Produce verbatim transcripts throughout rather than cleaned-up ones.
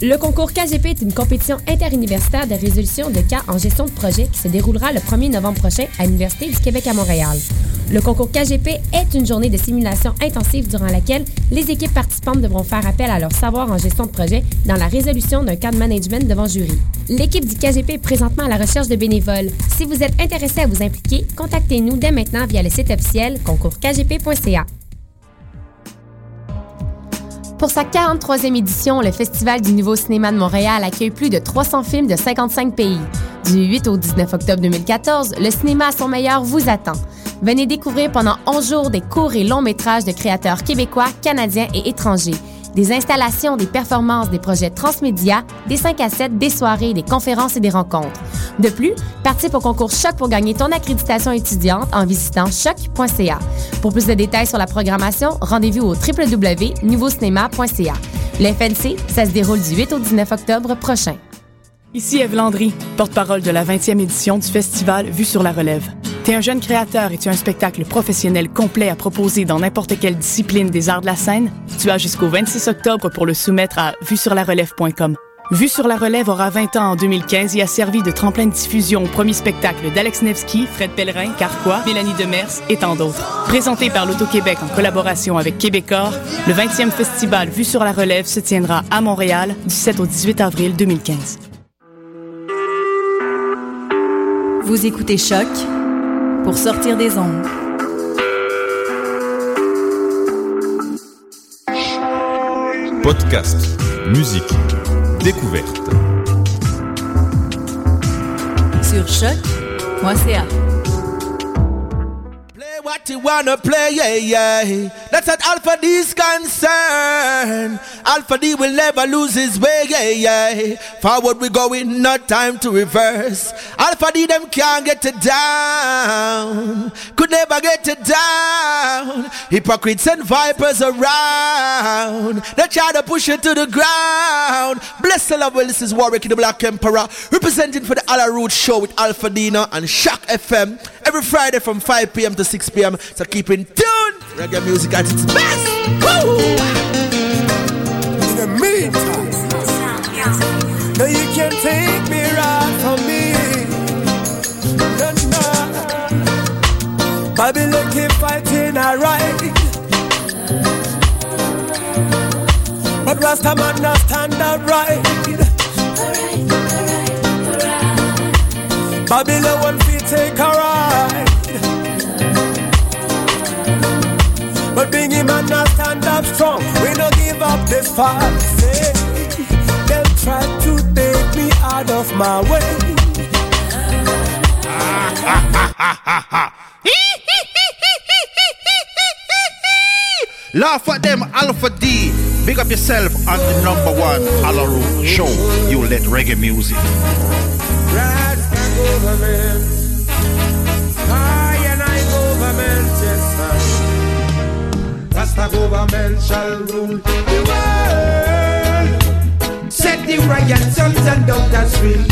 Le concours K G P est une compétition interuniversitaire de résolution de cas en gestion de projet qui se déroulera le premier novembre prochain à l'Université du Québec à Montréal. Le concours K G P est une journée de simulation intensive durant laquelle les équipes participantes devront faire appel à leur savoir en gestion de projet dans la résolution d'un cas de management devant jury. L'équipe du K G P est présentement à la recherche de bénévoles. Si vous êtes intéressé à vous impliquer, contactez-nous dès maintenant via le site officiel concours k g p point c a. Pour sa quarante-troisième édition, le Festival du Nouveau Cinéma de Montréal accueille plus de trois cents films de cinquante-cinq pays. Du huit au dix-neuf octobre deux mille quatorze, le cinéma à son meilleur vous attend. Venez découvrir pendant onze jours des courts et longs métrages de créateurs québécois, canadiens et étrangers. Des installations, des performances, des projets transmédia, des cinq à sept, des soirées, des conférences et des rencontres. De plus, participe au concours Choc pour gagner ton accréditation étudiante en visitant choc point c a. Pour plus de détails sur la programmation, rendez-vous au w w w point nouveau cinéma point c a. Le F N C, ça se déroule du huit au dix-neuf octobre prochain. Ici Ève Landry, porte-parole de la vingtième édition du festival Vue sur la relève. T'es un jeune créateur et tu as un spectacle professionnel complet à proposer dans n'importe quelle discipline des arts de la scène? Tu as jusqu'au vingt-six octobre pour le soumettre à vue sur la relève point com. Vue sur la relève aura vingt ans en deux mille quinze et a servi de tremplin de diffusion au premier spectacle d'Alex Nevsky, Fred Pellerin, Carquois, Mélanie Demers et tant d'autres. Présenté par l'Auto-Québec en collaboration avec Québecor, le vingtième festival Vue sur la relève se tiendra à Montréal du sept au dix-huit avril deux mille quinze. Vous écoutez Choc pour sortir des ondes. Podcast, musique, découverte. Sur choc point c a. Play what you wanna play, yeah, yeah. That's what Alpha D's concern. Alpha D will never lose his way, yeah, yeah. Forward we going, not time to reverse. Alpha D them can't get it down. Could never get it down. Hypocrites and vipers around. They try to push it to the ground. Bless the love, well, this is Warwick the Black Emperor, representing for the Alla Root Show with Alpha Dino and Shock F M. Every Friday from five p.m. to six p.m. So keep in tune. Reggae music at its best. Woo! In the meantime, no, you can't take me right from me. No, no. Babylon keep fighting alright, but Rasta man not stand upright. Babylon want to take a ride, but being him and not stand up strong. We don't give up this fight. Say, they'll try to take me out of my way. Laugh at them, Alpha D. Big up yourself on the number one Alla Root Show. You let reggae music. Rasta government, I and I government, yes sir. Rasta government shall rule the world. Set the riot sons and daughters free.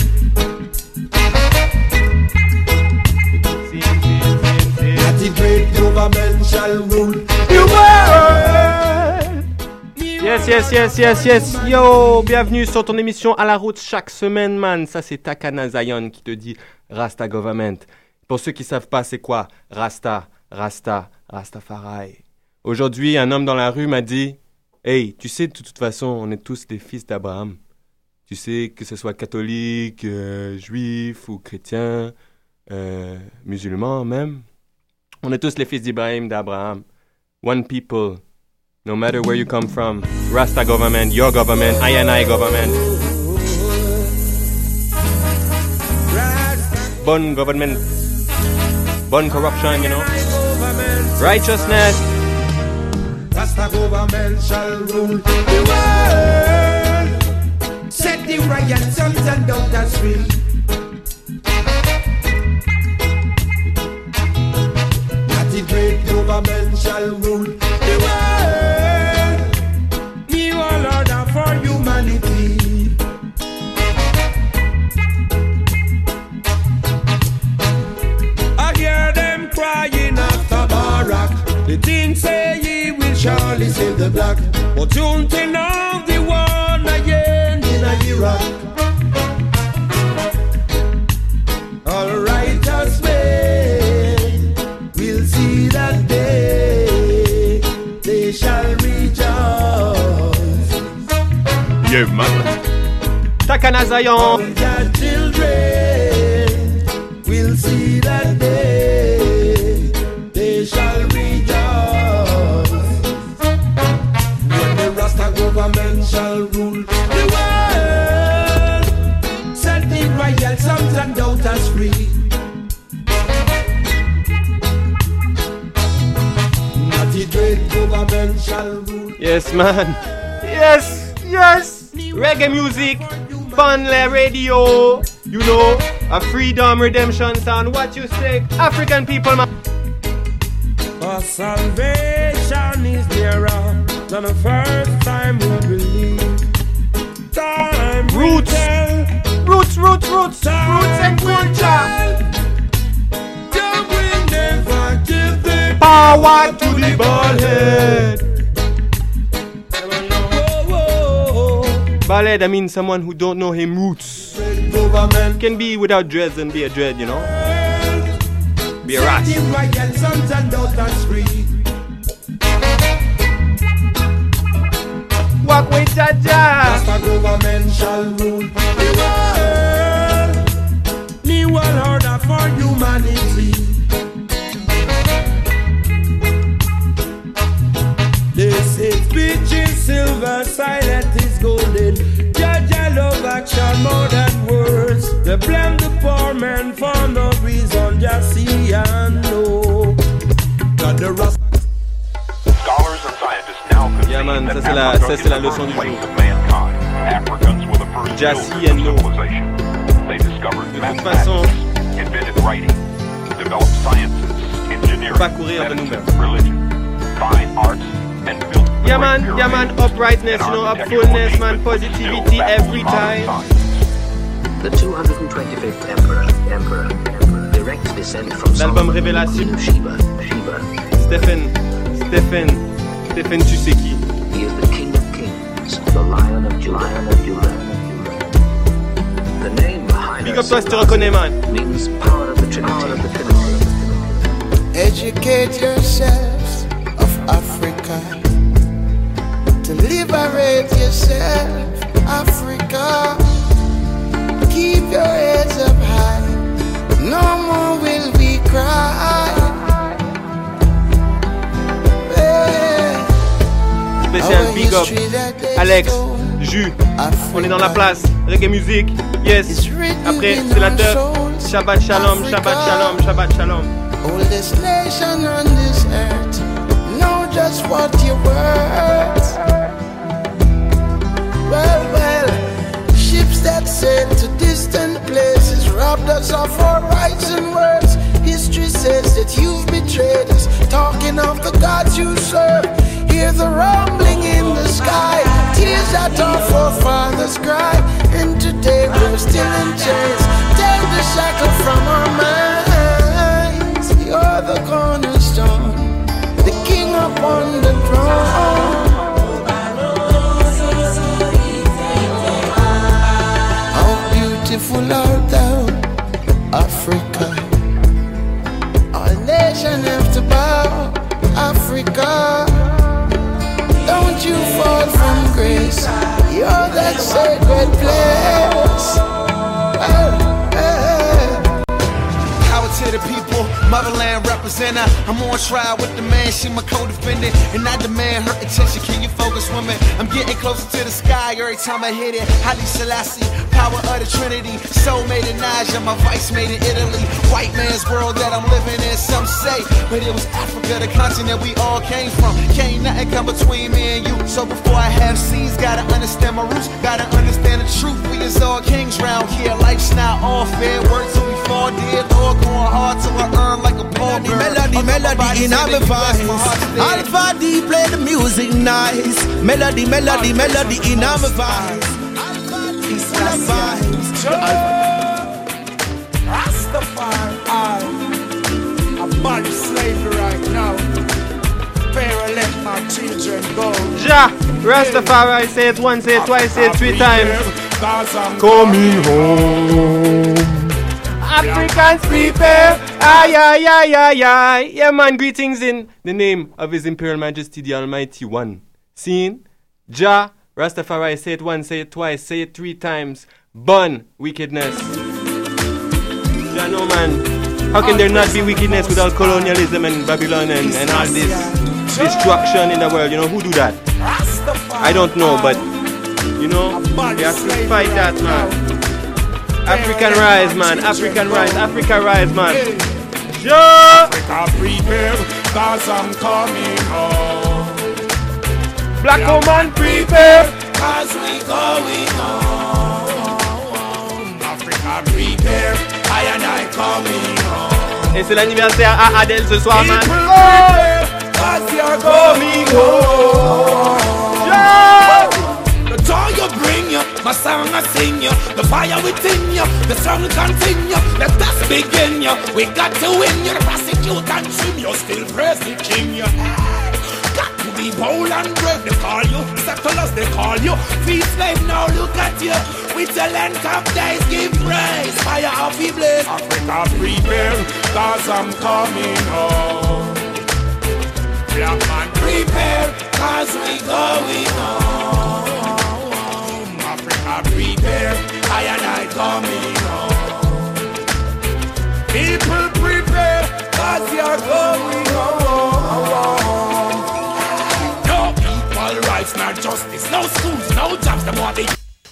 That the great government shall rule the world. Yes, yes, yes, yes, yes. Yo, bienvenue sur ton émission À la route chaque semaine, man. Ça, c'est Takana Zion qui te dit Rasta Government. Pour ceux qui savent pas, c'est quoi Rasta, Rasta, Rastafari. Aujourd'hui, un homme dans la rue m'a dit hey, tu sais, de toute façon, on est tous des fils d'Abraham. Tu sais, que ce soit catholique, euh, juif ou chrétien, euh, musulman même. On est tous les fils d'Ibrahim, d'Abraham. One people. No matter where you come from, Rasta government, your government, I and I government. Bon government, bon corruption, you know. Righteousness. Rasta government shall rule the world. Set the riot sons and daughters free. That the great government shall rule the world. New order for humanity. I hear them crying after Barack. The thing say he will surely save the black. But don't they know the one again? in Iraq. All righteous men will see that day, they shall rejoice. Yeah, man. Takana Zion. All their children will see that day, they shall rejoice. When the Rasta government shall rule the world, setting royal sons and daughters free. Not the great government shall rule. Yes, man. Yes, yes. Reggae music, Funle Radio. You know, a freedom redemption sound. What you say, African people, man. Our salvation is nearer than the first time we believe. Time Roots, will tell. roots, roots, roots, Time roots and will culture. tell. God will never give the Power to the bald head. Bald head, I mean someone who don't know him roots. government Can be without dreads and be a dread, you know. Be a rat. setting royal sons and daughters free. Walk with Jaja. Rasta government shall rule the world. New world order for humanity. They say speech is silver, silent is golden. Jaja love action more than words. They blame the poor man for no reason, just see and know. That the Rasta Scholars and scientists now concede Yeah, man, that ça, c'est la- Africa ça, is c'est la the leçon first du place jour. of mankind. Africans were the first Jassy builders and of Lo. civilization. They discovered De toute mathematics, façon, invented writing, developed sciences, engineering, pas courir de medicine, nous-mêmes. religion, fine arts, and built the Yeah, Great man, yeah, man, Pyramids uprightness, and you know, architectural upfulness, man, achievements positivity still baffle every modern time. science. The two hundred twenty-fifth Emperor, Emperor, Emperor, direct descent from L'album Solomon, Révélation. Queen of Sheba, Sheba. Stephen, Stephen, Stephen, tu sais qui? He is the King of Kings, the Lion of Judah, Lion of Judah. The name Haile Big up toi si tu reconnais, man. means power of the Trinity. Power of the Trinity. educate yourselves of Africa, to liberate yourself, Africa. Keep your heads up high, no more will we cry. Yeah. Spécial Our big up, history that they Alex, stole, Jus, Africa. on est dans la place, reggae music, yes. It's written Après, in c'est la our teuf, souls, Shabbat Shalom, Africa. Shabbat Shalom, Shabbat Shalom. Oldest nation on this earth, know just what you're worth. Well, well, ships that sail to distant places robbed us of our rights and words. History says that you've betrayed us, talking of the gods you serve. Hear the rumbling in the sky, tears that our forefathers cried. And today we're still in chains, take the shackle from our minds. You're the cornerstone, the king upon the throne. How beautiful art thou, Africa. Our nation have to bow, Africa. Don't you fall from grace, you're that sacred place. Oh, oh. Power to the people, motherland representative. I'm on trial with the man, she my co-defendant, and I demand her attention. Can you focus, woman? I'm getting closer to the sky every time I hit it. Haile Selassie, power of the Trinity. Soul made in Niger, my vice made in Italy. White man's world that I'm living in, some say, but it was Africa, the continent we all came from. Can't nothing come between me and you. So before I have seeds, gotta understand my roots, gotta understand the truth. We is all kings round here. Life's not all fair, work till we fall dead, or going hard till I earn like a ball girl. Melody, melody in our voice. Alpha D play the music nice. Melody, melody, melody in our voice. Alpha D full of vibes. Rastafari, I'm abolish slavery right now. Pharaoh let my children go. Ja, Rastafari, say it once, say it twice, say it three times. cause I'm coming home. Africans prepare. Aye, aye, aye, aye, aye. Yeah, man, greetings in the name of His Imperial Majesty, the Almighty One. Seen? Jah, Rastafari, say it once, say it twice, say it three times. Bun wickedness. Jah, no, man. How can there not be wickedness without colonialism and Babylon and, and all this destruction in the world? You know, who do that? I don't know, but, you know, we have to fight that, man. African rise, man. African rise. Africa rise, man. Yeah. Africa prepare, cause I'm coming home. Black yeah. woman prepare, cause we going home. Africa prepare, I and I coming home. Et c'est l'anniversaire à Adèle ce soir, man. Prepare, cause you're coming home. Yeah. The joy you bring you, my song I sing you, the fire within you, the struggle continue, let us begin you. We got to win you, the prosecute and trim you, still praise the king you. Got to be bold and brave, they call you, settlers they call you, free slave now look at you, with the land of days give praise, fire of the blaze. Africa prepare, cause I'm coming home. Black man prepare, cause we going home. Africa prepare, I and I coming home. People prepare, cause you're going home. No equal rights, no justice, no schools, no jobs, the more they...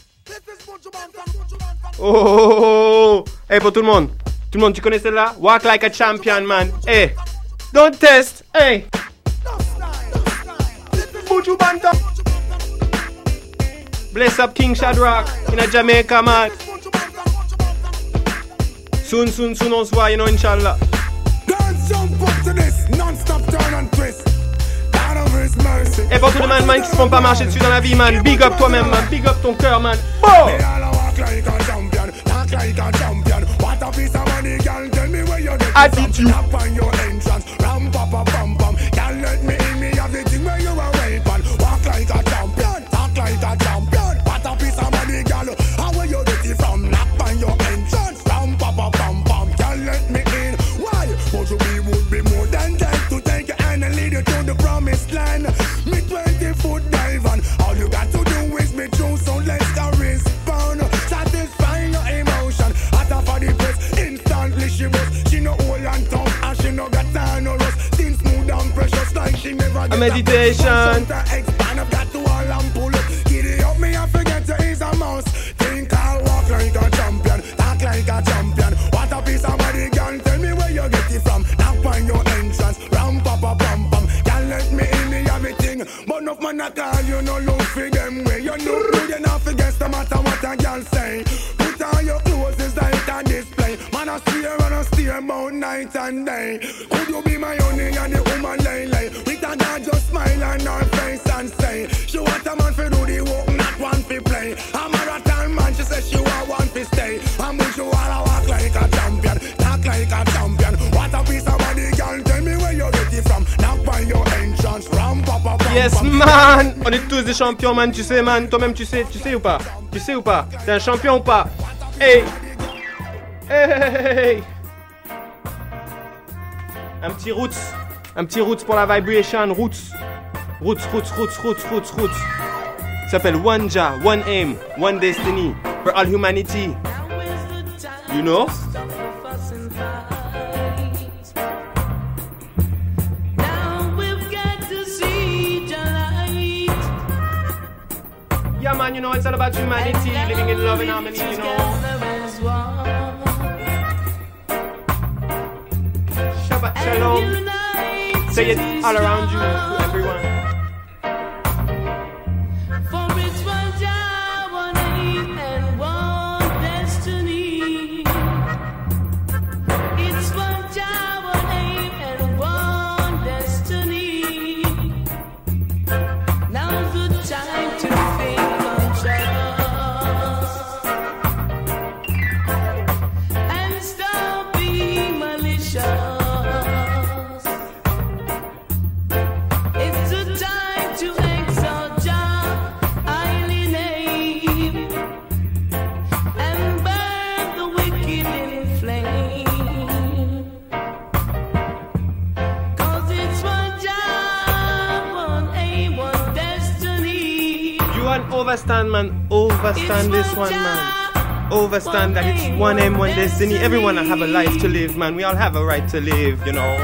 Oh, hey, pour tout le monde. Tout le monde, tu connais celle-là? Walk like a champion, man. Hey, don't test. Hey. Buju Banton. Bless up King Shadrach in a Jamaica, man. Soon, soon, soon on se voit, you know, inshallah. Et pour tous les man, man qui se font pas marcher dessus dans la vie, man. Big up toi-même, man. Big up ton cœur, man. Oh! Attitude. A meditation. Think I'll walk like a champion, talk like a champion. What a piece of body, girl. Tell me where you get it from. Knock on your entrance, ram pa pa pam pam. Can't let me in, me everything. But enough man I call you, no look for them way. You know good enough against no matter what a girl say. Put on your clothes, it's like a display. Man I steer and I steer about night and day. Could you be my honey and the woman lay lay? With a dad just smile on her face and say, she want a man for do the work, not one for play. I'm a rattan man, she says she want one for stay. I'm with you all, walk like a champion, talk like a champion. What a piece of body, girl, tell me where you get it from. Knock by your entrance, ram pa pa pa. Yes man, on est tous des champions man, tu sais man, toi-même tu sais, tu sais ou pas? Tu sais ou pas? T'es un champion ou pas? Hey! Hey! Un petit roots, un petit roots pour la vibration, roots. Roots, roots, roots, roots, roots, roots. Ça s'appelle One Jah, One Aim, One Destiny for all humanity. You know? Yeah man, you know, it's all about humanity, living in love and harmony, you know. Shabbat Shalom. Say it all around you, to everyone. It's a one overstand, man. Overstand this one, man. Overstand that it's one aim, one destiny. Everyone have a life to live, man. We all have a right to live, you know.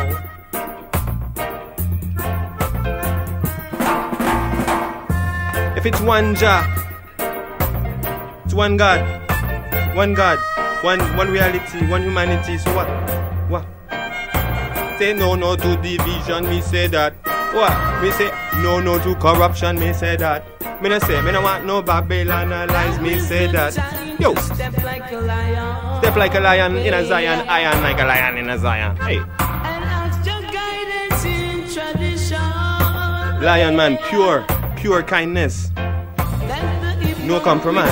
If it's one Jah, it's one God, one God, one one reality, one humanity. So what? What? Say no, no to division. Me say that. What? Me say no, no to corruption. Me say that. Me no say me no want no Babylon lies. Me say that. Yo, step like a lion. Step like a lion in a Zion. Iron like a lion in a Zion. Hey. And ask your guidance in tradition. Lion man, pure, pure kindness. No compromise.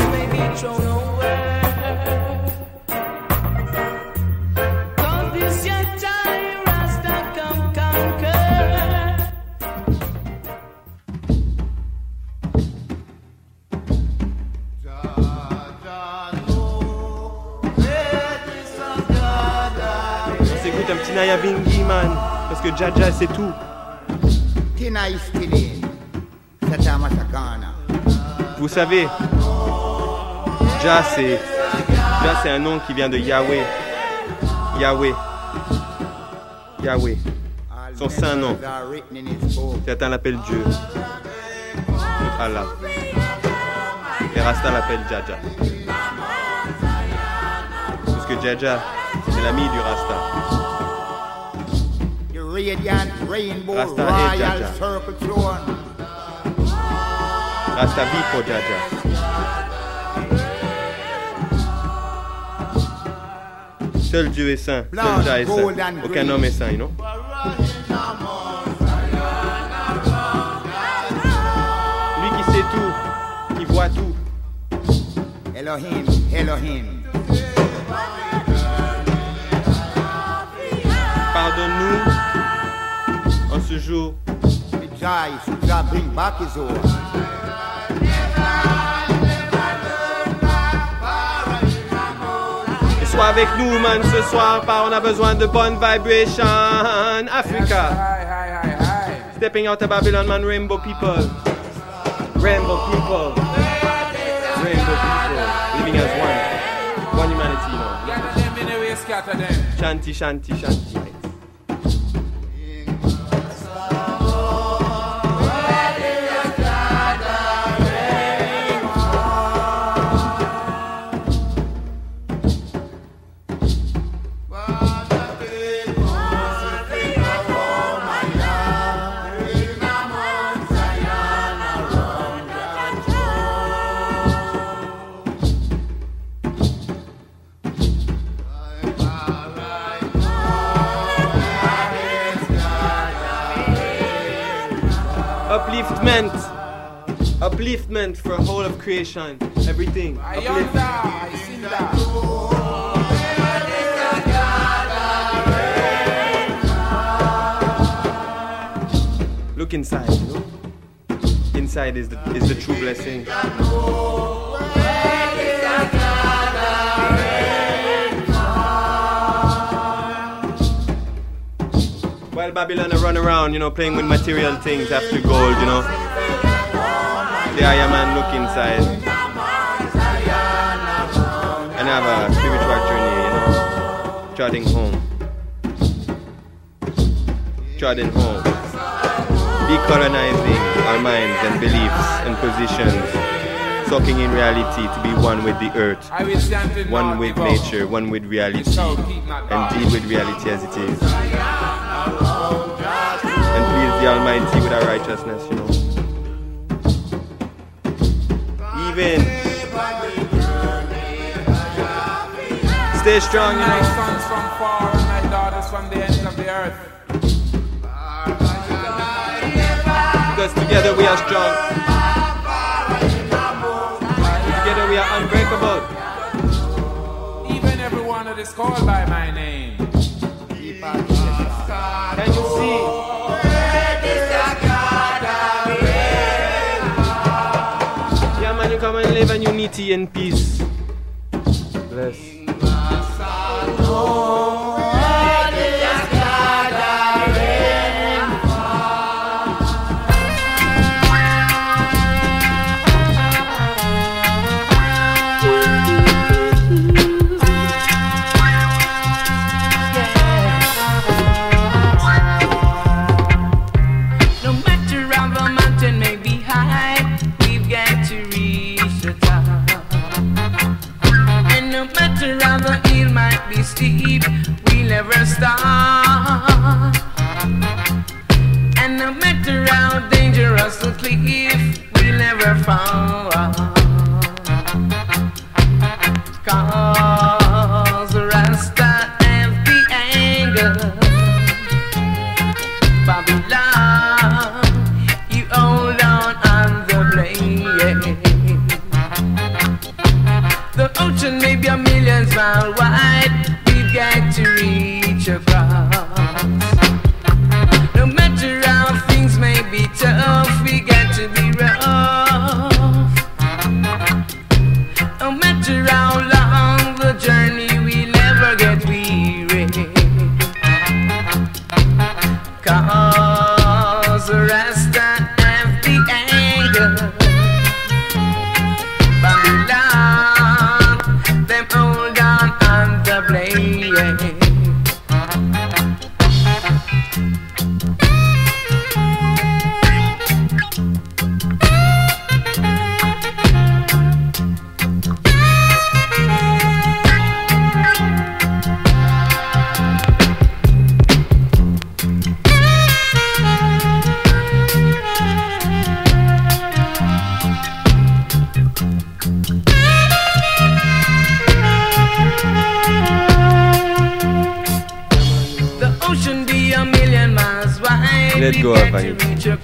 Naya Bingi, man, parce que Jaja c'est tout. Vous savez, Jah c'est Jah c'est un nom qui vient de Yahweh. Yahweh. Yahweh. Son saint nom. Certains l'appellent Dieu. Allah. Et Rasta l'appelle Jaja. Parce que Jaja, c'est l'ami du Rasta. Radiant rainbow Rasta royal circle throne. Rasta vit pour Jaja. Seul Dieu est saint. Seul Jah est saint. Aucun homme est saint, you know? Lui qui sait tout, qui voit tout. Elohim, Elohim. Pardonne-nous en ce jour. Et sois avec nous, man, ce soir, car on a besoin de bonnes vibrations. Africa. Stepping out of Babylon, man, rainbow people. Rainbow people. Rainbow people. Living as one. One humanity, you know. Shanti, shanti, shanti. Upliftment, upliftment for whole of creation, everything. Upliftment. Look inside, you know? Inside is the is the true blessing. While Babylon I run around, you know, playing with material things after gold, you know. The Iron Man look inside and have a spiritual journey, you know, trotting home, trotting home, decolonizing our minds and beliefs and positions, soaking in reality to be one with the earth, one with nature, one with reality, and deal with reality as it is. And please the Almighty with our righteousness, you know. Even stay strong, you know. My sons from far and my daughters from the ends of the earth. Because together we are strong. Together we are unbreakable. Even everyone that is called by my name. Can you see? Yeah, man, you come and live in unity and peace. Bless. steep, we never stop. And no matter how dangerous the cliff, we never fall. Cause Rasta have the anger. Babylon, you hold on on the blade. The ocean may be a million miles wide, we've got to reach across. No matter how things may be tough, we got to be rough. No matter how long the journey, we never get weary. Cause the Rasta have the anger. Babylon, them hold on on the blade. Let go of Vanity.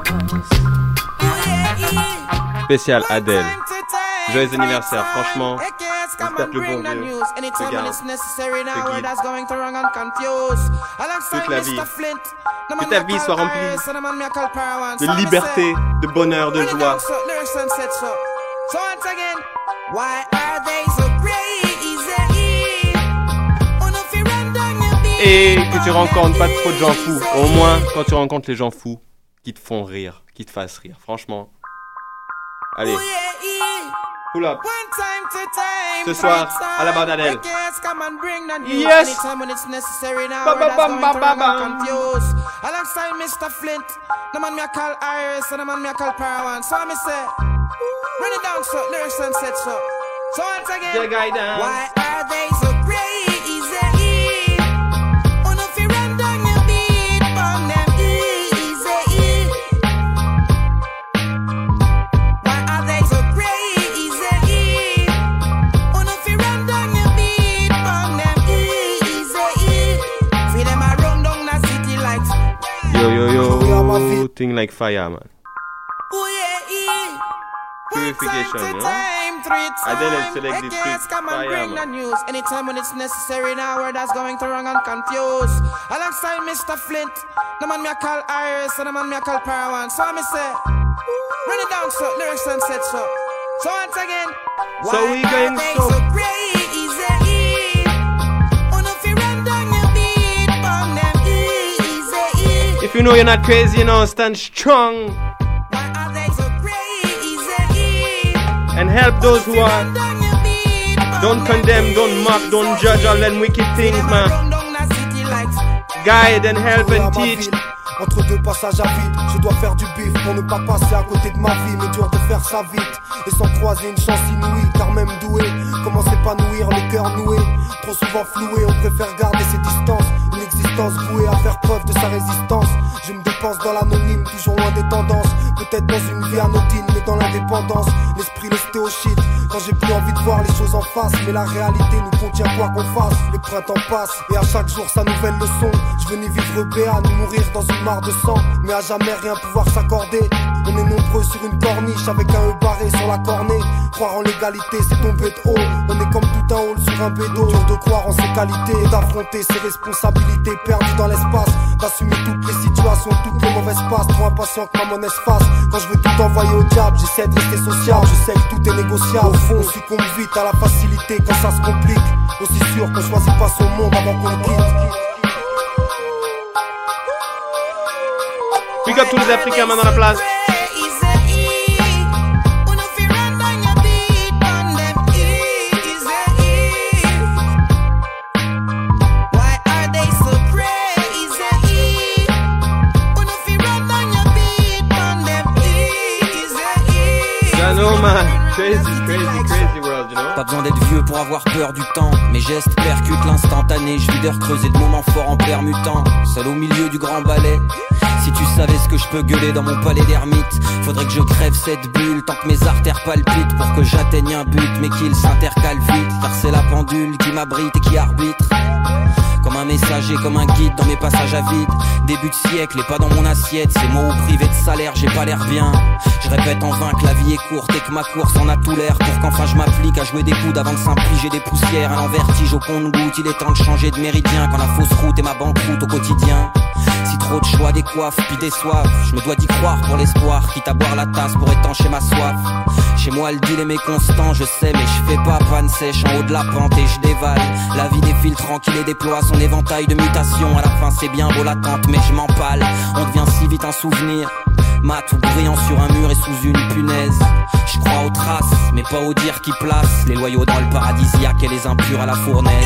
Spécial Adèle. Joyeux anniversaire, franchement. J'espère que le bon Dieu te garde, te guide toute la vie. Que ta vie soit remplie de liberté, de bonheur, de joie. Et que tu rencontres pas trop de gens fous. Au moins, quand tu rencontres les gens fous, qui te font rire, qui te fassent rire. Franchement. Allez. Pull up. Ce soir, à la barre d'Adèle. Yes! Ba ba bam ba ba bam. Alongside Mister Flint, the man me a call Iris and the man me a call Parawan. So me say, run it down so, lyrics and set so. So once again, why are they so crazy? Yo yo yo, thing like fire, man. Purification, you know? Adele has selected fire, man. Anytime when it's necessary, now word that's going to wrong and confused. Alongside Mister Flint, the man me a call Iris and the man me a call Parawan. So me say, run it down so, lyrics and set so. So once again, so we going so. so If you know you're not crazy, you know, stand strong and help those who are. Don't condemn, don't mock, don't judge all them wicked things, man. Guide and help and teach. Entre deux passages à vide, je dois faire du bif pour ne pas passer à côté de ma vie, mais dur de faire ça vite et sans croiser une chance inouïe, car même doué, comment s'épanouir, le cœur noué, trop souvent floué, on préfère garder ses distances, une existence vouée à faire preuve de sa résistance. Je me dépense dans l'anonyme, toujours loin des tendances, peut-être dans une vie anodine, mais dans l'indépendance, l'esprit le stéoshite, quand j'ai plus envie de voir les choses en face, mais la réalité nous contient quoi qu'on fasse. Le printemps passe et à chaque jour sa nouvelle leçon. Je veux ni vivre béat, ni mourir dans une mare de sang, mais à jamais rien pouvoir s'accorder. On est nombreux sur une corniche avec un E barré sur la cornée. Croire en l'égalité c'est tomber de haut. On est comme tout un hall sur un bédo. Dur de croire en ses qualités et d'affronter ses responsabilités perdues dans l'espace. D'assumer toutes les situations, toutes les mauvaises passes. Trop impatient que ma monnaie se fasse. Quand je veux tout envoyer au diable, j'essaie de rester sociable. Je sais que tout est négociable. Au fond, on succombe vite à la facilité quand ça se complique. Aussi sûr qu'on choisit pas son monde avant qu'on le quitte. Big up tous les Africains maintenant dans la place. No man. crazy, crazy, crazy world, you know. Pas besoin d'être vieux pour avoir peur du temps. Mes gestes percutent l'instantané. Je vis de recreuser le moment fort en permutant. Seul au milieu du grand ballet. Si tu savais ce que je peux gueuler dans mon palais d'ermite, faudrait que je crève cette bulle tant que mes artères palpitent pour que j'atteigne un but, mais qu'il s'intercale vite, car c'est la pendule qui m'abrite et qui arbitre. Comme un messager, comme un guide dans mes passages à vide. Début de siècle et pas dans mon assiette. Ces mots privés de salaire, j'ai pas l'air bien. Je répète en vain que la vie est courte et que ma course en a tout l'air. Pour qu'enfin je m'applique à jouer des coudes avant de s'impliger des poussières. Un vertige au compte-gouttes, il est temps de changer de méridien. Quand la fausse route est ma banqueroute au quotidien. Si trop de choix décoiffent puis déçoivent, je me dois d'y croire pour l'espoir, quitte à boire la tasse pour étancher ma soif. Chez moi le deal est méconstant, je sais, mais je fais pas panne sèche en haut de la pente et je dévale. La vie défile tranquille et déploie son éventail de mutations. À la fin c'est bien beau l'attente, mais je m'empale. On devient si vite un souvenir, mat ou brillant sur un mur et sous une punaise. Je crois aux traces, mais pas aux dires qui placent les loyaux dans le paradisiaque et les impurs à la fournaise.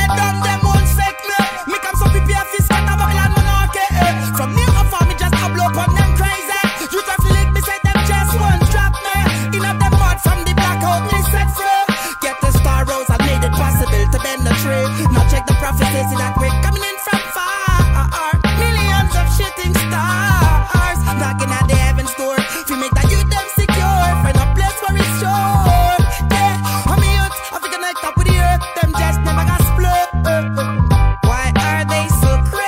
From near afar, me just a blow up them crazy. You just lick me, say them just one drop me. In up them mud from the blackout, me set free. Get the star rose, I made it possible to bend the tree. Now check the prophecies that we're coming in from far. Millions of shooting stars knocking at the heaven's door. If you make that youth them secure, find a place where it's sure. Yeah, I'm a youth, I think I connect up with the earth. Them just never got split. Why are they so crazy?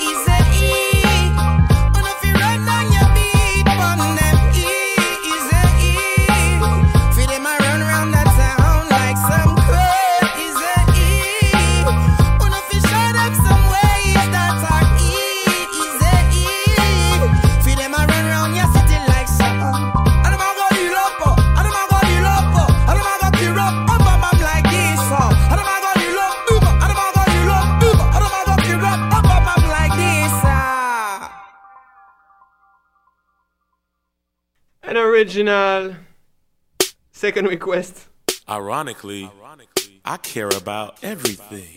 An original. Second request. Ironically, I care about everything.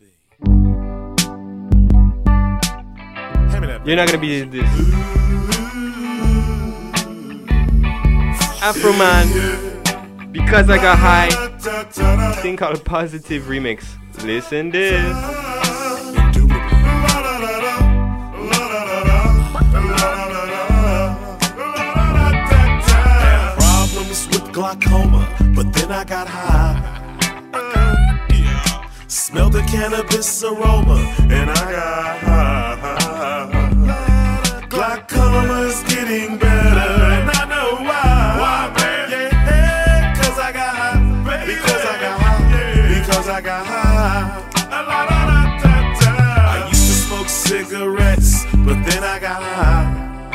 You're not gonna be this. Afro Man, Because I Got High. Thing called Positive Remix. Listen this. Glaucoma, but then I got high. Yeah. Smelled the cannabis aroma, and I got high. Glaucoma is getting better, and I know why. Why, man? Yeah, cause I got high. Baby. Because I got high. Yeah. Because I got high. I used to smoke cigarettes, but then I got high.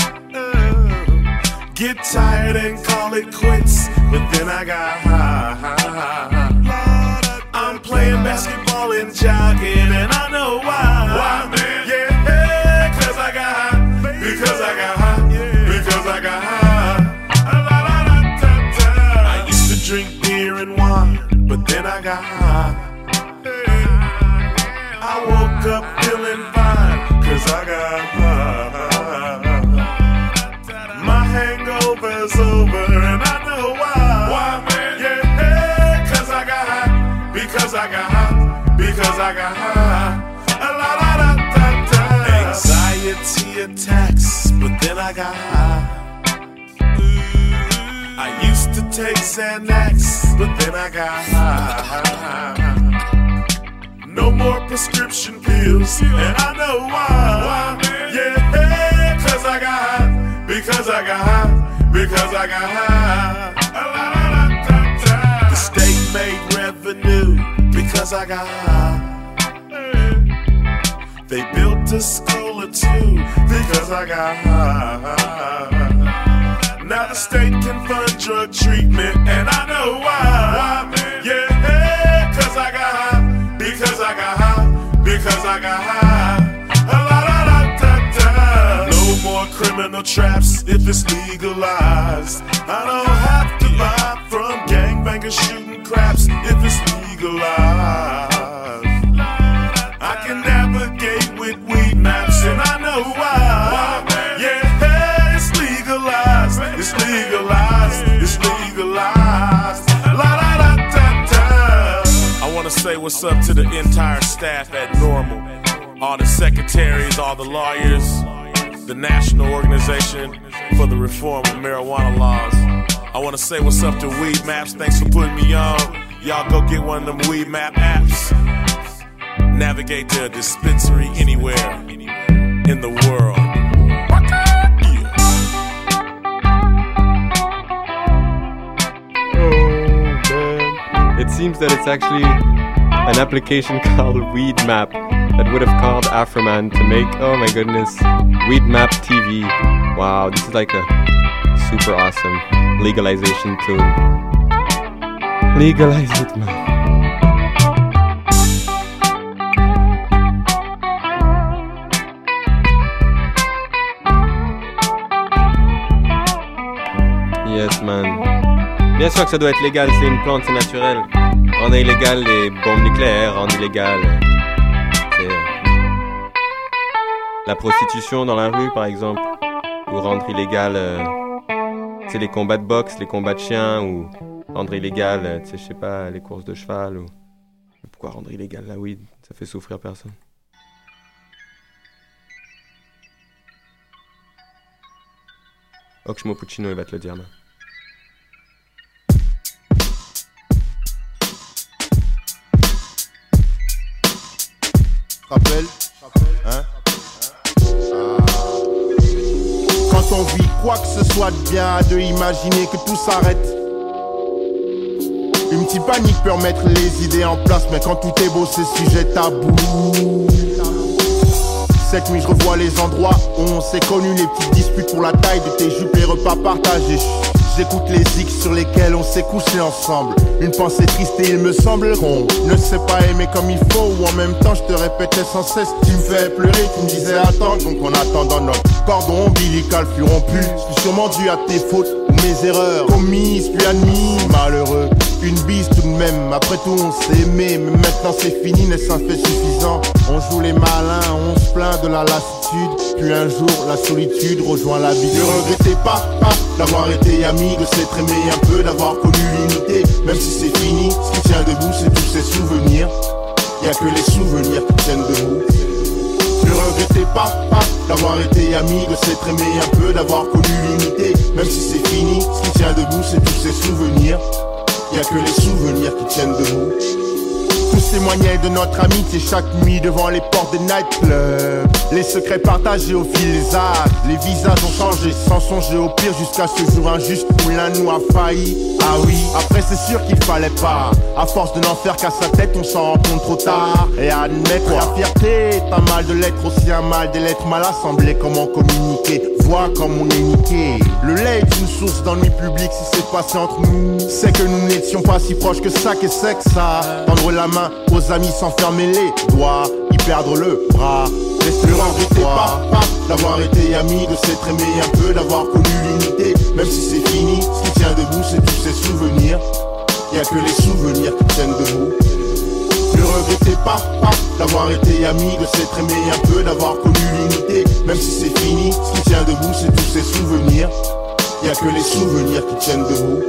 Get tired and call it quits, but then I got high. I'm playing basketball and jogging, and I know why. Why, man? Yeah, cause I got high. Because I got high. Because I got high. I used to drink beer and wine, but then I got high. I woke up feeling fine, cause I got high. My hangover's over, and I know why. Why, man? Yeah, cause I got high. Because I got high. Because I got high. A la la la da da. Anxiety attacks, but then I got high. I used to take Xanax, but then I got high. No more prescription pills, and I know why. Yeah, cause I got high. Because I got high, because I got high. The state made revenue because I got high. They built a school or two because I got high. Now the state can fund drug treatment, and I know why. Yeah, cause I got high, because I got high, because I got high. No more criminal traps if it's legalized. I don't have to buy from gangbangers shooting craps if it's legalized. I can navigate with weed maps, and I know why. Yeah, it's legalized. It's legalized. It's legalized. what's up to the entire staff at Normal. All the secretaries, all the lawyers, the National Organization for the Reform of Marijuana Laws. I want to say what's up to Weed Maps. Thanks for putting me on. Y'all go get one of them Weed Map apps. Navigate to a dispensary anywhere in the world. It seems that it's actually an application called Weed Map that would have called Afroman to make, oh my goodness, Weed Map T V. Wow, this is like a super awesome legalization tool. Legalize it, man. Yes, man. Bien sûr que ça doit être légal, c'est une plante, c'est naturel. Rendre illégal les bombes nucléaires, rendre illégal c'est, euh, la prostitution dans la rue, par exemple. Ou rendre illégal euh, c'est les combats de boxe, les combats de chiens. Ou rendre illégal, euh, tu sais, je sais pas, les courses de cheval. Ou... Pourquoi rendre illégal la weed? Ça fait souffrir personne. Oxmo Puccino, il va te le dire, man. Rappelle, hein? Ah. Quand on vit quoi que ce soit de bien, de imaginer que tout s'arrête. Une petite panique peut remettre les idées en place, mais quand tout est beau, c'est sujet tabou. Cette nuit, je revois les endroits où on s'est connus, les petites disputes pour la taille de tes jupes, les repas partagés. J'écoute les X sur lesquels on s'est couché ensemble. Une pensée triste et il me semble qu'on ne sait pas aimer comme il faut. Ou en même temps je te répétais sans cesse, tu me fais pleurer, tu me disais attends. Donc en attendant notre cordon ombilical fut rompu. C'est sûrement dû à tes fautes ou mes erreurs commises puis admises. Malheureux, une bise tout de même. Après tout on s'est aimé, mais maintenant c'est fini, n'est-ce un fait suffisant? On joue les malins, on se plaint de la lassitude. Puis un jour la solitude rejoint l'habitude. Ne regrettez pas, pas d'avoir été ami, de s'être aimé un peu, d'avoir connu l'unité. Même si c'est fini, ce qui tient debout c'est tous ces souvenirs. Y'a que les souvenirs qui tiennent debout. Ne regrettez pas, pas d'avoir été ami, de s'être aimé un peu, d'avoir connu l'unité. Même si c'est fini, ce qui tient debout c'est tous ces souvenirs. Y'a que les souvenirs qui tiennent debout. Tous témoignaient de notre amitié chaque nuit devant les portes des nightclubs. Les secrets partagés au fil des âges. Les visages ont changé sans songer au pire jusqu'à ce jour injuste où l'un nous a failli. Ah oui, après c'est sûr qu'il fallait pas. À force de n'en faire qu'à sa tête, on s'en rend compte trop tard. Et à admettre la fierté est un mal de l'être, aussi un mal des lettres mal assemblées. Comment communiquer, vois comme on est niqué. Le lait est une source d'ennui public. Si c'est passé entre nous, c'est que nous n'étions pas si proches que ça. Qu'est-ce que c'est que ça? Tendre la main aux amis sans fermer les doigts, y perdre le bras. Ne regrettez pas, pas d'avoir été ami, de s'être aimé un peu, d'avoir connu l'unité. Même si c'est fini, ce qui tient debout c'est tous ces souvenirs. Y'a que les souvenirs qui tiennent debout. Ne regrettez pas, pas d'avoir été ami, de s'être aimé un peu, d'avoir connu l'unité. Même si c'est fini, ce qui tient debout c'est tous ces souvenirs. Y'a que les souvenirs qui tiennent debout.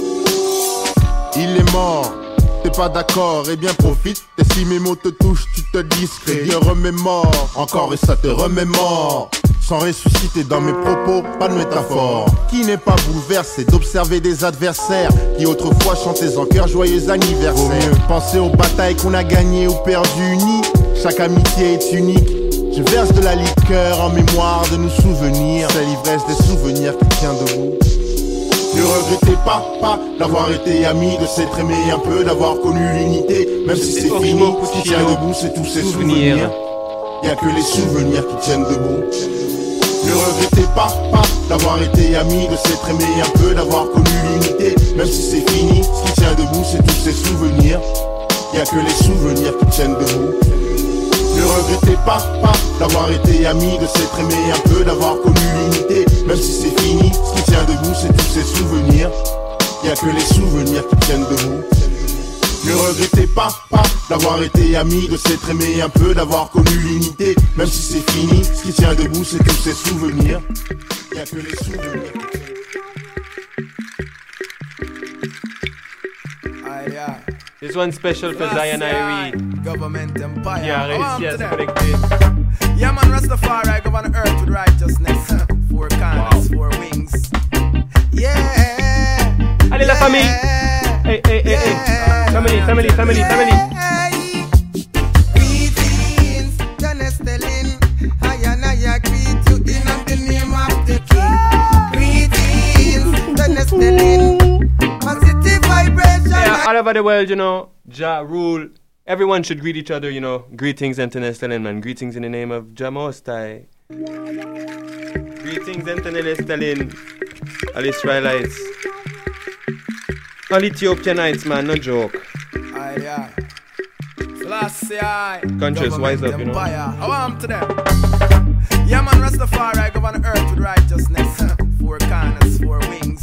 Il est mort. T'es pas d'accord, et bien profite. Et si mes mots te touchent, tu te discret. Bien remémore, encore et ça te remémore. Sans ressusciter dans mes propos, pas de métaphore. Qui n'est pas bouleversé d'observer des adversaires qui autrefois chantaient en cœur joyeux anniversaire. Vaut mieux penser aux batailles qu'on a gagnées ou perdues unies. Chaque amitié est unique. Je verse de la liqueur en mémoire de nos souvenirs. C'est l'ivresse des souvenirs qui tient debout. Ne regrettez pas, pas d'avoir été ami, de s'être aimé un peu, d'avoir connu l'unité. Même si c'est fini, ce qui tient debout c'est tous ces souvenirs. Y'a que les souvenirs qui tiennent debout. Ne regrettez pas, pas d'avoir été ami, de s'être aimé un peu, d'avoir connu l'unité. Même si c'est fini, ce qui tient debout c'est tous ces souvenirs. Y'a que les souvenirs qui tiennent debout. Ne regrettez pas, pas d'avoir été ami, de s'être aimé un peu, d'avoir connu l'unité. Même si c'est fini, ce qui tient debout c'est tous ces souvenirs. Y'a que les souvenirs qui tiennent debout. Ne regrettez pas, pas d'avoir été ami, de s'être aimé un peu, d'avoir connu l'unité. Même si c'est fini, ce qui tient debout c'est tous ces souvenirs. Y'a que les souvenirs. Aïe aïe. This one special for Zion Irie. Government empire. Qui a réussi à se connecter. Yeah, man, Rastafari, govern the earth with righteousness. Four corners, four wings. Yeah. Allez, la famille. Hey, hey, hey, hey. Family, family, family, family. Greetings, John Estelin. I and I greet you in the name of the King. Greetings, John Estelin. Positive vibration. Yeah, all over the world, you know, Jah rule. Everyone should greet each other, you know. Greetings, Anthony Estelin, man. Greetings in the name of Jah Most High. Greetings, Anthony Estelin. All Israelites. All Ethiopianites, man, no joke. Aye, aye. Selassie, aye. Conscious, wise up, you know. How am to them? Yeah, man, Rastafari, govern the earth with righteousness. Four corners, four wings.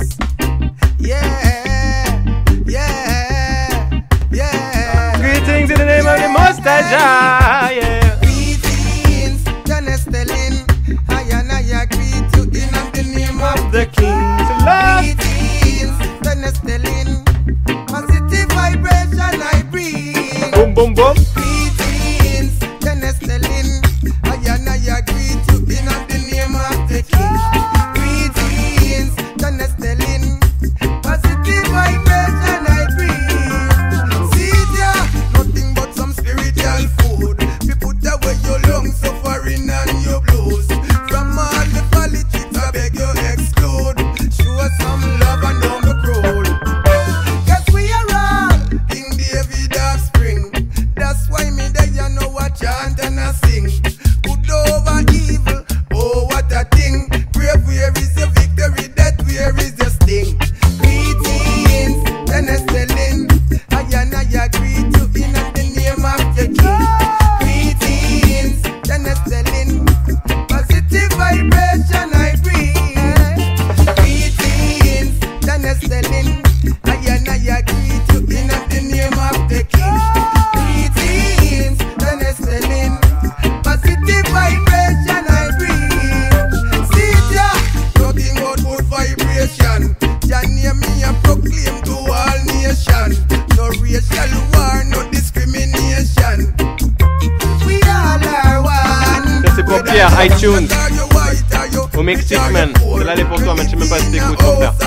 Yeah, yeah, yeah. Greetings in the name of the Most High Jah, yeah. Greetings, John Estelin. I and I greet you in the name of the King. Greetings, John Estelin. Positive vibration I bring. Boom, boom, boom. Greetings, John Estelin. I and I greet you in the name of the King. Greetings, John Estelin. Positive vibration I bring. See ya, nothing but some spiritual food. We put away your long suffering and your blues. From all the politics I beg you exclude. Show us some love and down the road. Guess we are all King David offspring. That's why me there you know I chant and I sing. Good over evil, oh what a thing. Brave, where is your victory? Death, where is your sting? Greetings, John Estelin. I and I greet you in the name of the King. Greetings, John Estelin. Positive vibration I bring. Greetings, John Estelin. I and I greet you in the name of the King. Greetings, John Estelin. Positive vibration I bring. See ya, nothing but good vibration. Jah name me and proclaim to all nation. No racial war, no discrimination. We all are one. Ça c'est pour Pierre, iTunes. Au Mexique, man. Celle-là, elle est pour toi, man. Je sais même pas si t'écoutes, mon frère.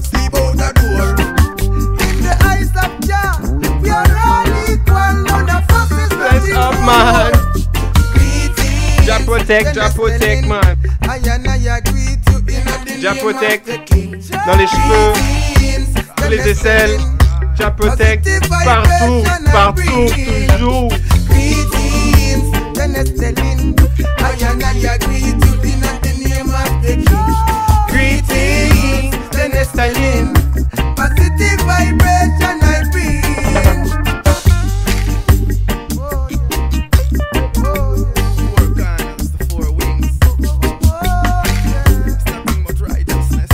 In the eyes of Jah, we are all equal. None of us is Bless up, man. Jah protect, Jah protect, man. Jah protect dans les cheveux, dans les aisselles. Jah protect partout, partout, toujours. Greetings, John Estelin. I and I greet you in the name of the King. Greetings, John Estelin. Positive vibration I bring. Four corners, the four wings. It's nothing but righteousness.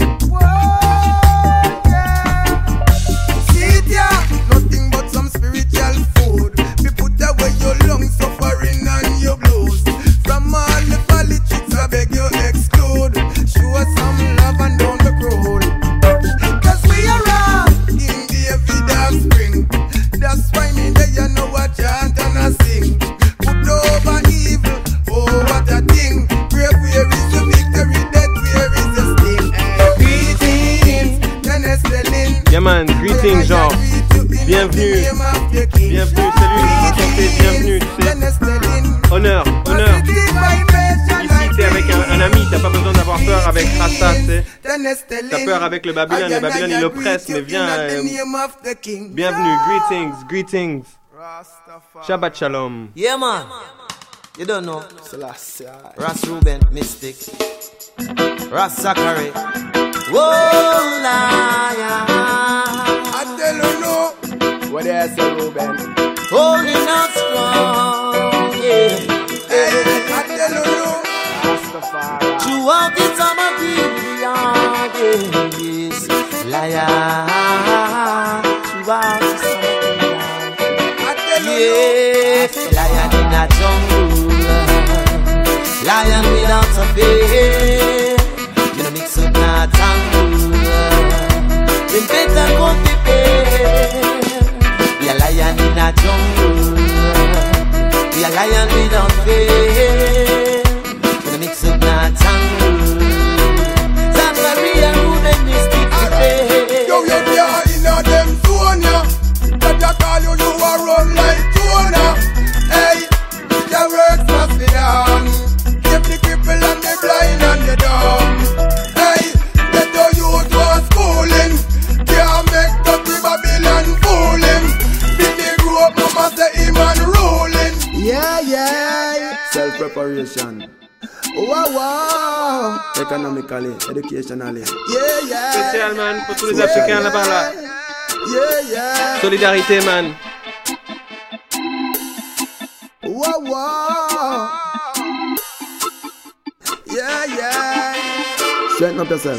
See ya, nothing but some spiritual food. We put away your long suffering and your blues. From all the politics I beg you exclude. Show us some love and down the road. Cause we are all King David offspring. That's why me there you know I chant and I sing. Put over evil, oh what a thing. Brave, where is the victory? Death, where is the sting? Greetings, John Estelin. Yeah man, greetings genre. Bienvenue, bienvenue, salut, santé, bienvenue, tu sais. Honneur, honneur. Ici t'es avec un, un ami, t'as pas besoin d'avoir peur avec Rasta, tu sais. T'as peur avec le Babylone, le Babylone il oppresse, mais viens. Euh, bienvenue, greetings, greetings. Shabbat Shalom. Yeah man, you don't know. Ras Ruben, Mystic. Ras Zachary. Whoa, lion. I tell you no. What do you say, Ruben? Holding out strong, yeah. Hey, I tell you no. Throughout the time of the yes, lion. Throughout the summer, yeah, lion in a jungle, lion without a fear. You know mix up na tangle. Them better go prepare. We are the jungle. We are lion without fear. Gonna mix up that tangle. Zachariah Ruben Mystic today. Yo, yo, yeah, in a them zone, yeah. That I call you, you a run like Jonah. Hey, your works must be done. Keep the cripple and the blind and the dumb. Hey, get the youth was schooling. Can't make the Babylon fooling. Big they grew up, mama say him and ruling. Yeah, yeah. Self-preparation. Wow, wow. Economically, educationally. Yeah, yeah. Spécial, man, pour tous les Africains là-bas, là. Yeah, yeah. Solidarité, man. Wow, wow. Yeah, yeah. Straighten up yourself.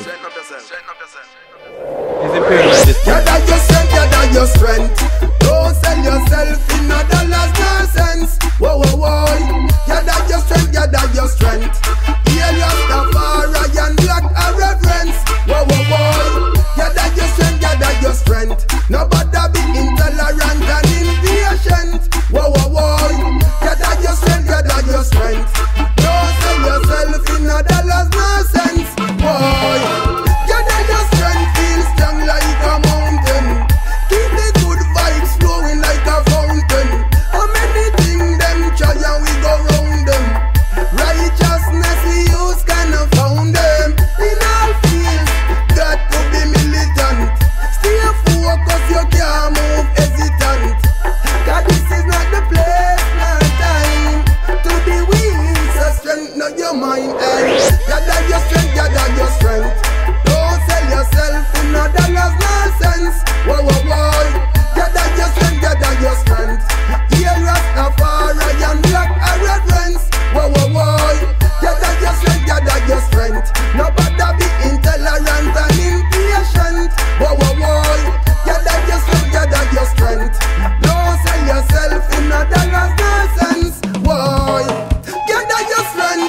Gather your strength, gather your strength. Don't sell yourself in a dollars nor cents. Whoa, whoa, whoa. Gather your strength, gather your strength. Hear Rastafari and black a reverence. Whoa, whoa, whoa. Gather your strength, gather your strength. Nobody be intolerant and impatient. Whoa, whoa, whoa. Gather your strength, gather your strength. Don't sell yourself in a dollars nor cents. Whoa. Gather your strength, feel strong like a mountain. Keep the good vibes flowing like a fountain. How many things them try and we go round them? Righteousness we use kind of found them. In all fields, got to be militant. Stay focused, you can't move hesitant. Cause this is not the place, not time to be weak. So strengthen your mind, hey. Gather your strength, gather your strength. Don't sell yourself in no dollars, no cents. Whoa, whoa, whoa. Gather your strength, gather your strength. Hear Rastafari and black a reverence. Whoa, whoa, whoa. Gather your strength, gather your strength. Nobody be intolerant and impatient. Whoa, whoa, whoa. Gather your strength, gather your strength. Don't sell yourself in no dollars, no cents. Whoa. Gather your strength.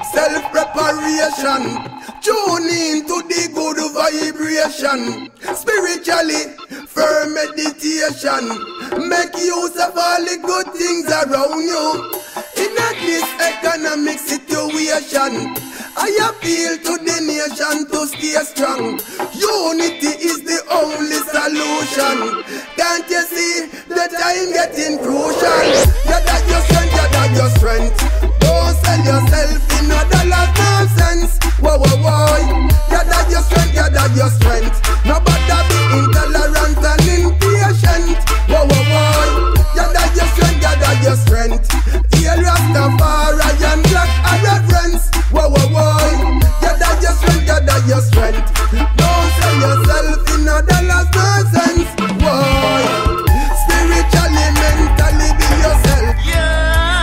Self-preparation. Tune in to the good vibration. Spiritually, firm meditation. Make use of all the good things around you. In this economic situation, I appeal to the nation to stay strong. Unity is the only solution. Can't you see the time getting crucial? Gather your strength, gather your strength. Don't sell yourself in no dollars, no cents. Whoa, whoa, whoa. Gather your strength, gather your strength. Nobody be intolerant and impatient. Whoa, whoa, whoa. Gather your strength, gather your strength. Hear Rastafari and black a reverence. Whoa, whoa, whoa. Gather your strength, gather your strength. Don't sell yourself in no dollars, no cents. Whoa. Spiritually, mentally be yourself. Yeah.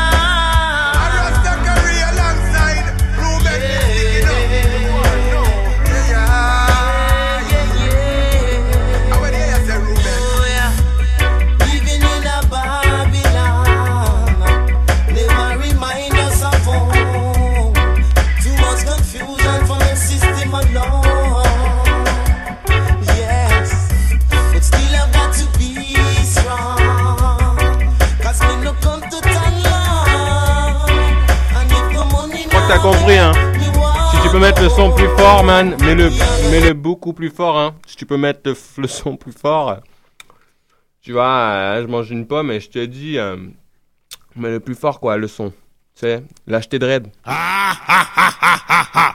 T'as compris, hein. Si tu peux mettre le son plus fort, man, mets-le, mets-le beaucoup plus fort, hein. Si tu peux mettre le, le son plus fort, tu vois, euh, je mange une pomme et je te dis, euh, mets le plus fort, quoi, le son. Tu sais, l'acheter de raid. Ah, ah, ah, ah, ah, ah.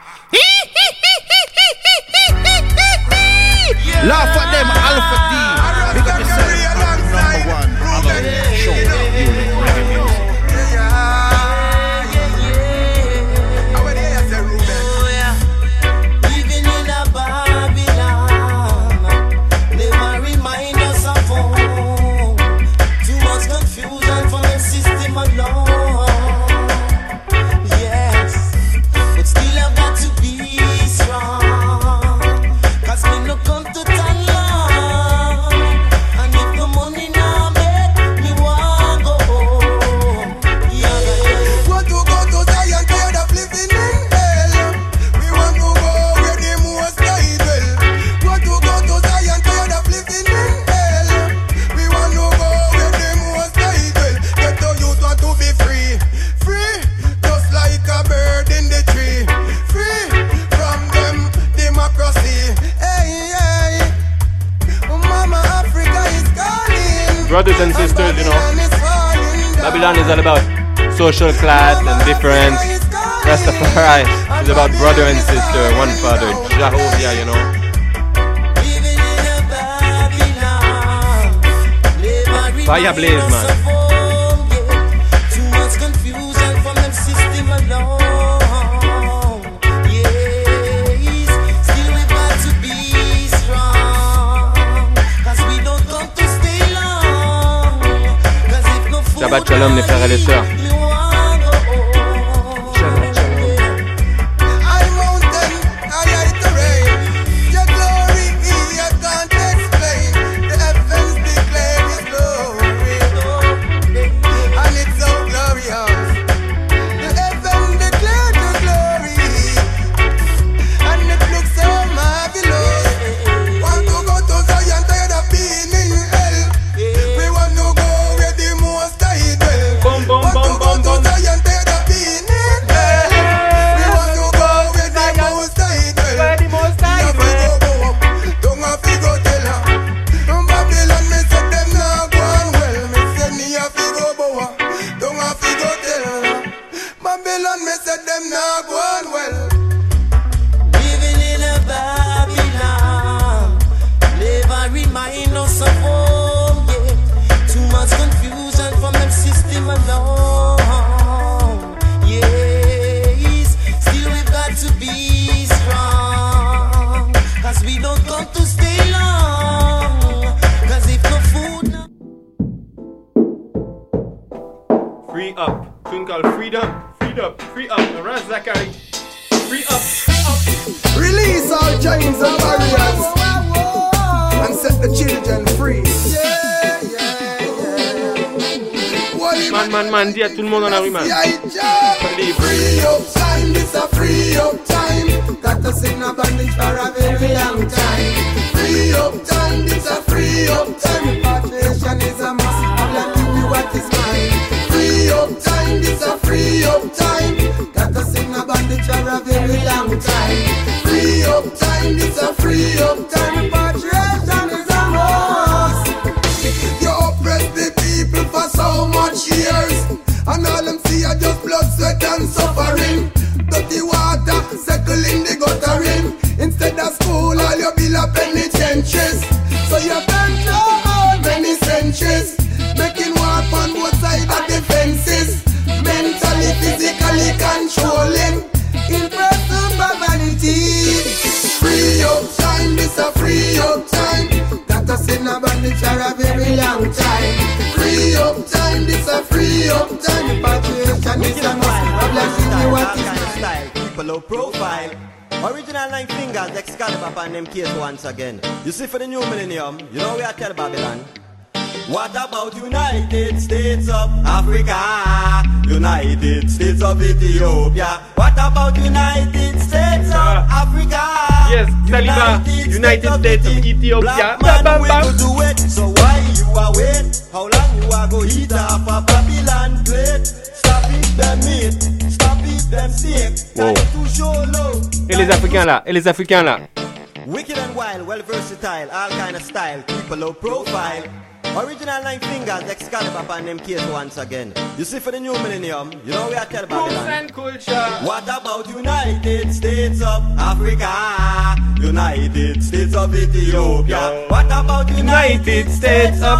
Laugh at them, Alpha D. Big up yourself, I'm the number one. I love you. Show you reggae music. Come to turn love. brothers and sisters, you know. Babylon is all about social class and difference. Rastafari is about brother and sister, one father, Jehovah, you know. Fire blaze, man. Shabbat shalom les frères et les sœurs. Dis à tout le monde dans la rue, man. Free up time, this a free up time. Got us in a bondage for a very long time. Free up time, this a free up time. Repatriation is a must. I'll give you what is mine. Free up time, this a free up time. Got us in a bondage for a very long time. Free up time, this a free up time. Repatriation is a must. You oppress the people for so much years. And all them see are just blood, sweat and suffering. Dirty water, settle in the guttering. Instead of school, all your bill are penitentiaries. So you been through all many centuries, making war on both sides of the fences. Mentally, physically controlling, impressive by vanity. Free up time, this a free up time. Got us in a bondage for a very long time. Free up time, this a free up time. Repatriation is a must. I'm like, you what is style, keep a low profile. Original nine fingers, Excalibur and them case once again. You see for the new millennium, you know we are tell Babylon. What about United States of Africa? United States of Ethiopia. What about United States of Africa? Yes, Saliba, United States of Ethiopia. Black man, we could do it. So why you are wait? How long you are go eat up a Babylon plate? Stop it, them meat. Stop it, them steak. Wow. To show low. Et les Africains là, et les Africains là. Wicked and wild, well versatile, all kind of style, keep a low profile. Original nine fingers, Excalibur and them case once again. You see for the new millennium, you know we are tell Babylon. And culture. What about United States of Africa? United States of Ethiopia. What about United States of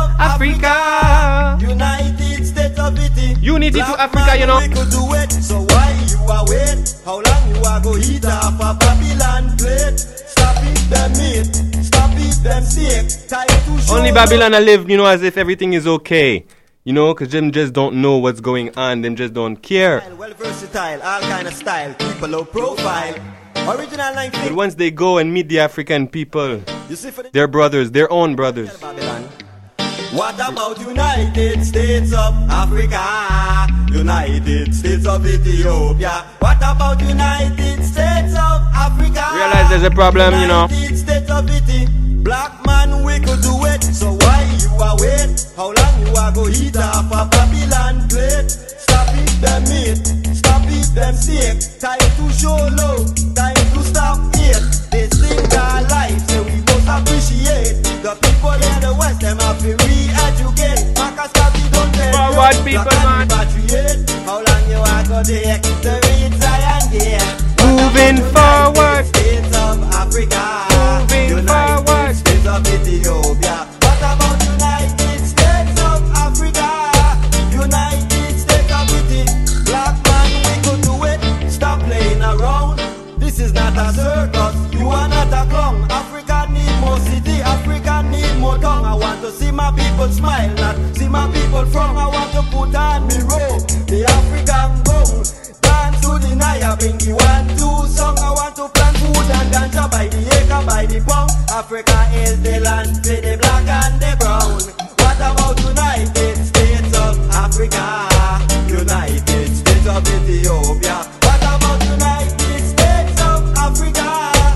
Africa? United States of Ethiopia. Unity to Africa, you know. We could do it, so why you are wait? How long you are go eat up a Babylon plate? Stop it, them meat. Stop it, them steak. Time to show. Only Babylon I live, you know, as if everything is okay. You know, because them just don't know what's going on. Them just don't care. Well versatile, all kind of style, keep a low profile. Original nine But once they go and meet the African people, their brothers, their own brothers. What about United States of Africa? United States of Ethiopia. What about United States of Africa? Realize there's a problem, you know. United States of Ethiopia. Black man, we could do it. So why you are wait? How long you are go eat up a Babylon plate? Stop it, them meat. Stop it, them steak. Time to show low. Time to stop it. They sing our life, so we must appreciate the people in the West. Them have to re-educate. forward, people, man. How long you are gonna take to reach Zion Gate? Moving forward. States of Africa. Moving United forward. States of Ethiopia. What about United States of Africa? United States of Ethiopia. Black man, we could do it. Stop playing around. This is not a circus. You are not a clown. Africa need more city. Africa need more tongue. I want to see my people smile, not see my people frown. I want to put on me robe, the African bowl. Dance to the Naya, bring the one, two song. I want to plant food and ganja by the acre, by the pound. Africa is the land for the black and the brown. What about United States of Africa? United States of Ethiopia. What about United States of Africa?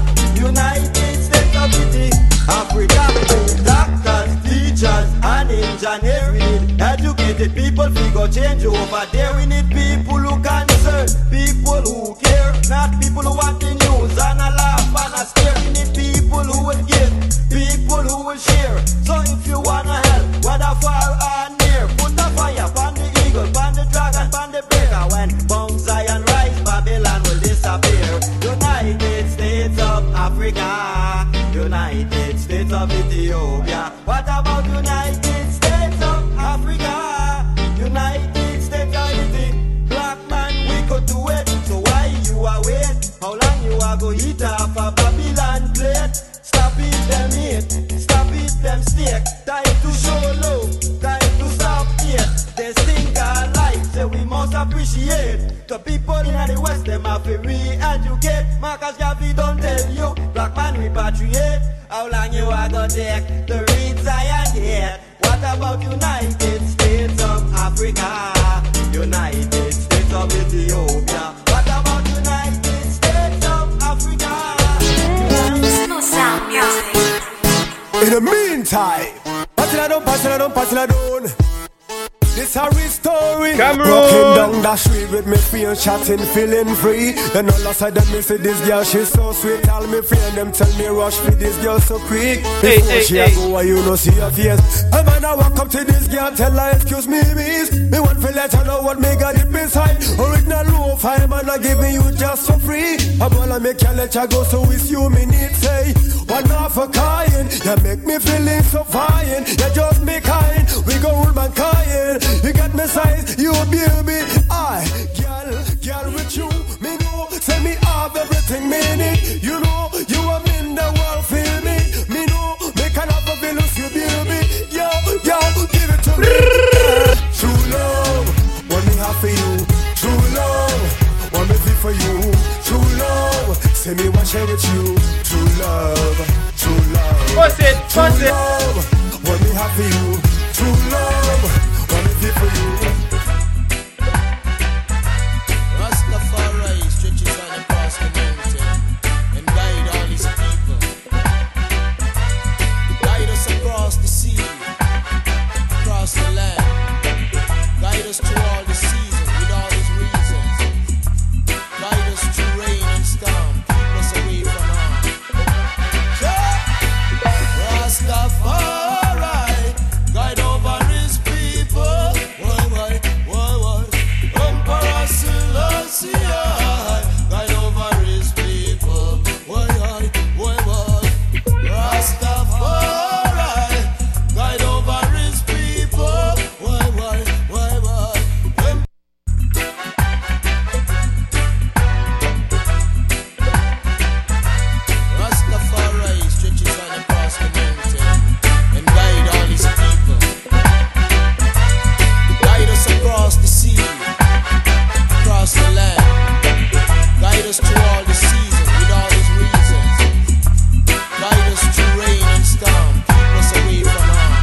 United States of Ethiopia. Africa, doctors, teachers, and engineers. We need educated people, figure change over there. We need people who concern, people who care, not people who want the news and a laugh and a stare. We need people who will give, people who will share. So if you wanna help, whether far or near, put the fire on the eagle, on the dragon, on the breaker. When Mount Zion rise, Babylon will disappear. United States of Africa, United States of Ethiopia. What about United States of Africa? United States of Ethiopia. Black man, we could do it. So why you are wait? How long you are go eat off a Babylon plate? Stop it them eat, stop it them steak. Time to show love, time to stop it. They think our life, so we must appreciate. The people in the West, them have to re-educate. Marcus Garvey don't tell you, black man repatriate. How long you are gonna take to reach Zion Gate? What about United States of Africa? United States of Ethiopia. What about United States of Africa? Smooth sound music. In the meantime, pass it down, pass it down, pass it down. This a real story. Cameroon. Walking down the street with me friend chatting, feeling free. Then all of a sudden me say this girl she's so sweet. All me friend them tell me rush for this girl so quick. Hey, Before hey, she hey. a go, you no see her face. A man I walk up to this girl, tell her excuse me, miss. Me want to let her know what me got it beside. Original low five man I give me you just for free. A ball I make you let you go, so it's you me need say. One half a kind, you make me feeling so fine. You just me kind, we go old man kind. You got me size, you baby. I, girl, girl with you, me know. Say me have everything me need. You know, you are in the world, feel me. Me know, me can have a villas, you baby. Yo, yo, give it to me. True love, what me have for you. True love, what me feel for you. True love, say me what share with you. True love, true love. What's it? What's True it? love, what me have for you. True love, what me feel for you. Rastafari stretches on across the mountain and guide all his people. Guide us across the sea, across the land. Guide us through all the seasons with all his reasons. Guide us through rain and storm. Keep us away from harm. Rastafari, guide over his people. Why, why, why, why? Emperor Selassie, guide over his people. Why, why, why, why? Rastafari, guide over his people. Why, why, why, why? Em- Rastafari stretches on across the mountain and guide all his people. Guide us across the sea, across the land. Guide us through all the seasons with all his reasons. Guide us through rain and storm. Keep us away from harm.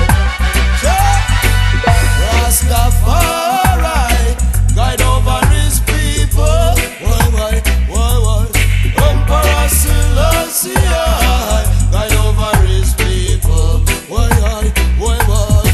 Rastafari, guide over his people. Why, why, why, why? Emperor Selassie, guide over his people. Why, why, why, why?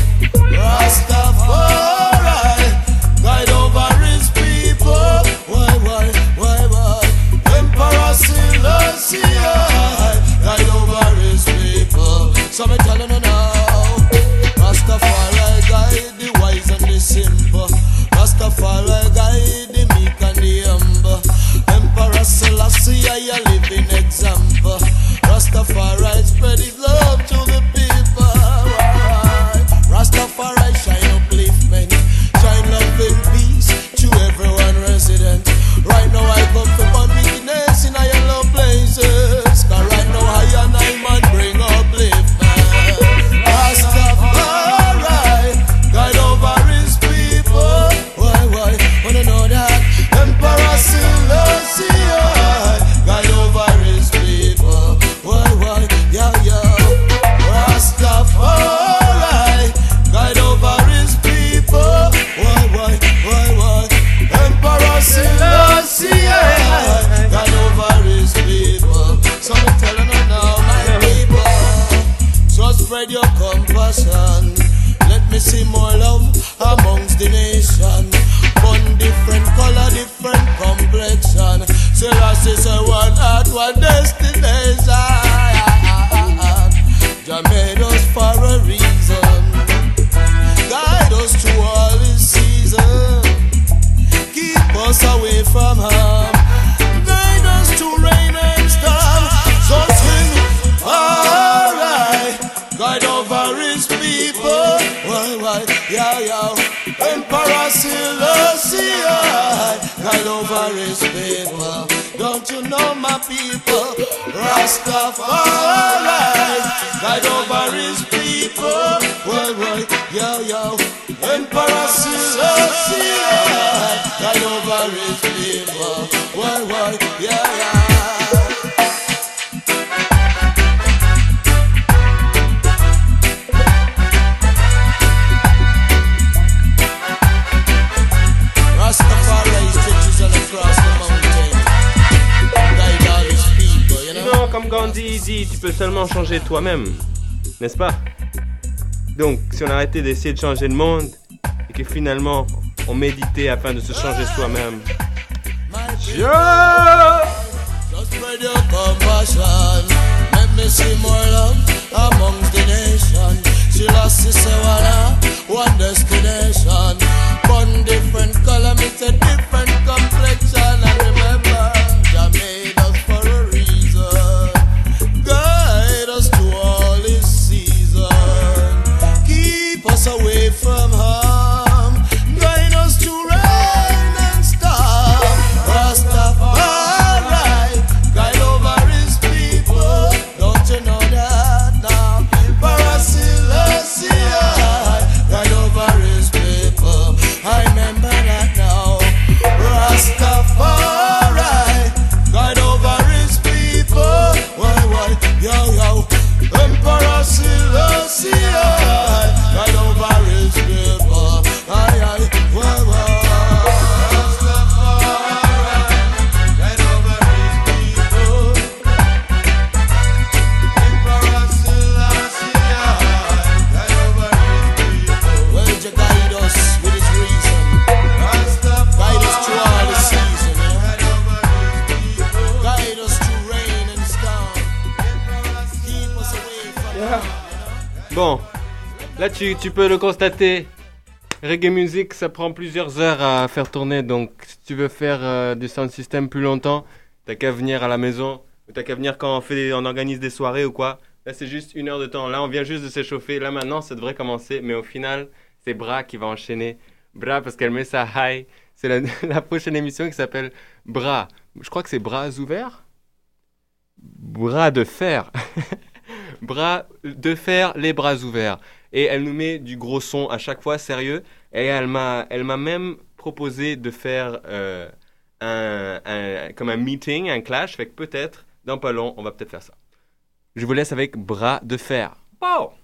Rastafari, guide over his people. Why, why, why, why? Emperor Selassie, guide over his people. So me telling you now, Rastafari guide the wise and the simple. Rastafari guide the meek and the humble. Emperor Selassie, I a living example. Rastafari spread his love to the people. Rastafari shine upliftment, shine love and peace to everyone resident. Right now I come to burn wickedness in a low places. Cause right now I and I man bring upliftment. Rastafari guide over his people. Why, why, wanna know that? Emperor Selassie guide over his people. Why, why, yeah, yeah. Rastafari guide over his people. Why, why, why, why? Emperor Selassie guide over his people. So I'm telling you now, my people, so spread your compassion. Let me see more love amongst the nation. One different color, different complexion. Selassie say one heart, one destination. Jah made us for a reason. Guide us through all this season. Keep us away from harm. Guide us to rain and storm. So sing, alright. Guide over his people. Why, why, yeah, yeah. Emperor Selassie, guide over his people. Don't you know my people? Rastafari, guide over his people. Why, why, yeah, yeah. Emperor Selassie, guide over his people. Why, why, yeah, yeah. Non, comme Gandhi dit, tu peux seulement changer toi-même, n'est-ce pas? Donc, si on arrêtait d'essayer de changer le monde et que finalement on méditait afin de se changer soi-même. Yeah! Just spread your compassion. Let me see more love amongst the nation. Selassie say one destination. One different color, it's a different complexion. And remember, Jah made us for a reason. Guide us to all this season. Keep us away from harm. Guide us to rain and storm. Rastafari, guide over his people. Don't you know that now? Emperor Selassie, guide over his people. I remember that now. Rastafari, guide over his people. Why, why, yo, yo. Emperor Selassie, guide over his people. Aye, aye, why, why. Rastafari, guide over his people. Emperor Selassie, guide over his people. Where did you guide us with his reason? Guide us through all the season, yeah? Guide us through rain and storm. Keep us away from Yeah. Bon, là tu, tu peux le constater. Reggae music, ça prend plusieurs heures à faire tourner, donc si tu veux faire euh, du sound system plus longtemps, t'as qu'à venir à la maison, ou t'as qu'à venir quand on, fait, on organise des soirées ou quoi. Là c'est juste une heure de temps, là on vient juste de s'échauffer, là maintenant ça devrait commencer, mais au final c'est Bra qui va enchaîner. Bra parce qu'elle met sa high, c'est la, la prochaine émission qui s'appelle Bra. Je crois que c'est Bras ouverts. Bras de fer. Bras de fer, les bras ouverts. Et elle nous met du gros son à chaque fois, sérieux. Et elle m'a, elle m'a même proposé de faire euh, un, un, comme un meeting, un clash. Fait que peut-être, dans pas long, on va peut-être faire ça. Je vous laisse avec Bras de fer. Oh!